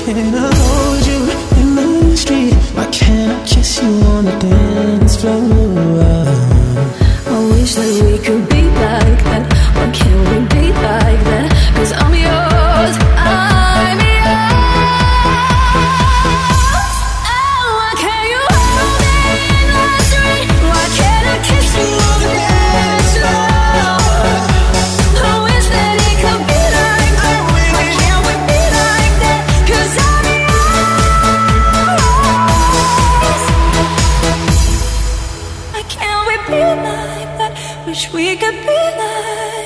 can't I hold you in the street? Why can't I kiss you on the dance floor? I wish that we could be like that. Why can't we be like that? 'Cause I'm yours, I'm yours. Oh, why can't you hold me in the street? Why can't I kiss you on the dance floor? I wish that it could be like that. Why can't we be like that? 'Cause I'm yours. Why can't we be like that? Wish we could be like